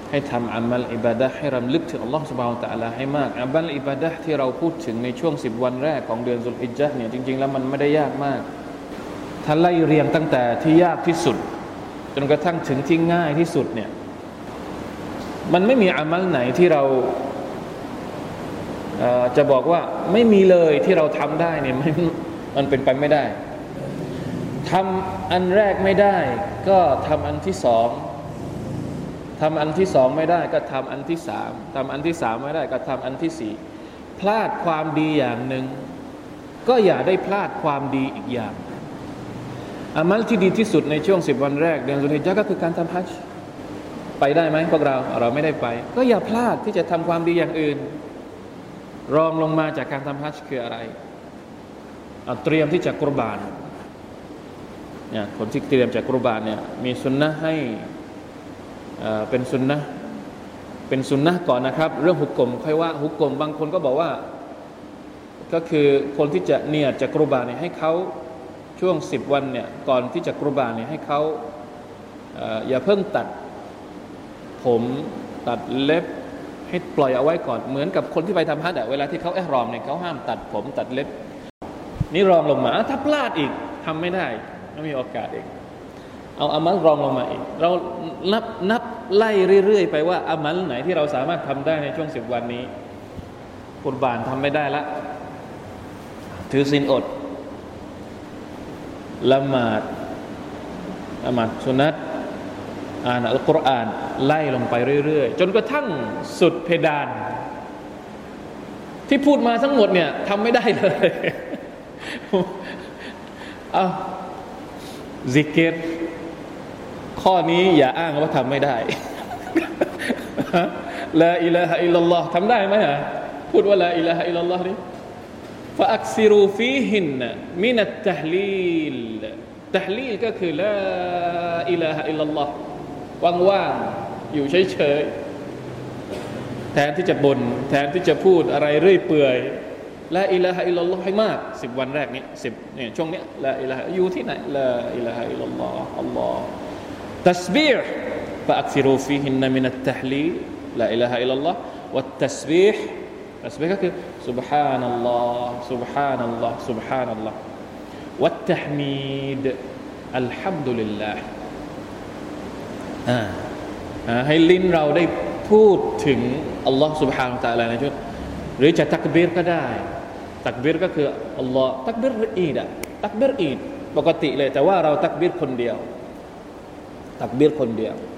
ให้ทำอามัลอิบาดะห์ให้รำลึกถึงอัลลอฮฺซุบฮานะฮูวะตะอาลาให้มากอามัลอิบาดะห์ที่เราพูดถึงในช่วง10วันแรกของเดือนซุลฮิจญะห์เนี่ยจริงๆแล้วมันไม่ได้ยากมากถ้าไล่เรียงตั้งแต่ที่ยากที่สุดจนกระทั่งถึงที่ง่ายที่สุดเนี่ยมันไม่มีอามัลไหนที่เราจะบอกว่าไม่มีเลยที่เราทำได้เนี่ยมันเป็นไปไม่ได้ทำอันแรกไม่ได้ก็ทำอันที่สองทำอันที่สองไม่ได้ก็ทำอันที่สามทำอันที่สามไม่ได้ก็ทำอันที่สี่พลาดความดีอย่างหนึ่งก็อย่าได้พลาดความดีอีกอย่างอามัลที่ดีที่สุดในช่วง10วันแรกเดือนซุลฮิจญะห์ก็คือการทำฮัจญ์ไปได้ไหมพวกเราไม่ได้ไปก็อย่าพลาดที่จะทำความดีอย่างอื่นรองลงมาจากการทำฮัจญ์คืออะไรเตรียมที่จะกุรบานเนี่ยคนที่เตรียมจะกุรบานเนี่ยมีสุนนะให้เป็นสุนนะก่อนนะครับเรื่องหุกกลมค่อยว่าหุกกลมบางคนก็บอกว่าก็คือคนที่จะเนียดจะกุรบานเนี่ยให้เขาช่วง10วันเนี่ยก่อนที่จะกุรบานเนี่ยให้เขาอย่าเพิ่งตัดผมตัดเล็บให้ปล่อยเอาไว้ก่อนเหมือนกับคนที่ไปทำฮัจญ์เวลาที่เขาอิหรอมเนี่ยเขาห้ามตัดผมตัดเล็บนี่รองลงมาถ้าพลาดอีกทำไม่ได้ไม่มีโอกาสอีกเอาอามัลรองลงมาอีกเรานับไล่เรื่อยๆไปว่าอามัลไหนที่เราสามารถทำได้ในช่วง10วันนี้กุรบานทำไม่ได้ละถือศีลอดละหมาดสุนัตอ่านอัลกุรอานไล่ลงไปเรื่อยๆจนกระทั่งสุดเพดานที่พูดมาทั้งหมดเนี่ยทำไม่ได้เลยซิกรข้อนี้อย่าอ้างว่าทำไม่ได้ลาอิลาฮะอิลลัลลอฮ์ทำได้ไหมฮะพูดว่าลาอิลาฮะอิลลัลลอฮ์นี่ฟะอักซิรูฟีฮินมินัตตะฮลีลตะฮลีลก็คือลาอิลาฮะอิลลัลลอฮ์ว่างๆอยู่เฉยๆแทนที่จะบ่นแทนที่จะพูดอะไรเรื่อยเปื่อยลาอิลาฮะอิลลัลลอฮ์ให้มาก10วันแรกนี้10เนี่ยช่วงเนี้ยลาอิลาฮะอยู่ที่ไหนลาอิลาฮะอิลลัลลอฮ์อัลลอฮ์ตัสบีห์ฟะอักซิรูฟีฮินมินัตตะฮลีลลาอิลาฮะอิลลัลลอฮ์วัตตัสบีห์ก็คือซุบฮานัลลอฮ์ซุบฮานัลลอฮ์ซุบฮานัลลอฮ์วัตตะฮมีดอัลฮัมดุลิลลาห์ให้ลิ้นเราได้พูดถึงอัลลอฮ์ سبحانه และ تعالى ในช่วงหรือจะตักบีรก็ได้ตักบีรก็คืออัลลอฮ์ตักบีรอีดตักบีรอีดปกติเลยแต่ว่าเราตักบีรคนเดียวตักบีรคนเดียว